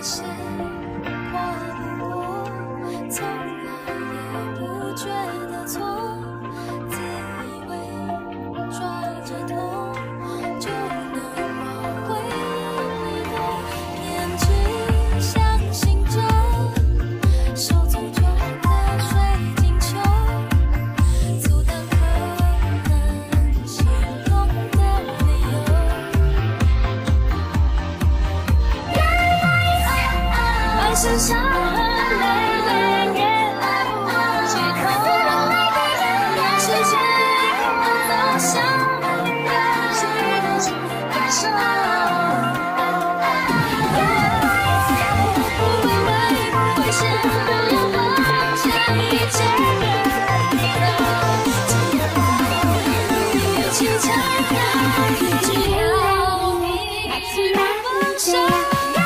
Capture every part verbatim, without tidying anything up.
谁跨不过，从来也不觉得错，自以为拽着头就能往回忆里躲，偏只相信着手足中的水晶球，阻挡可能心动的理由。爱剩下泪泪也来不及扣，时间都像记不清感受，不会为不会显得要放下一切的理由，有气场的，只要你放手。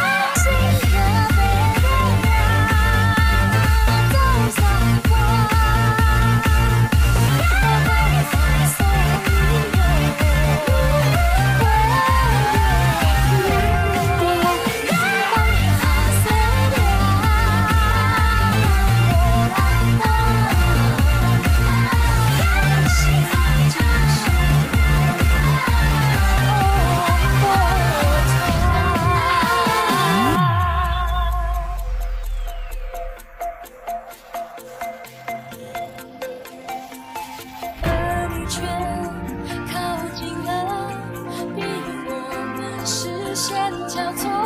却靠近了，比我们视线交错。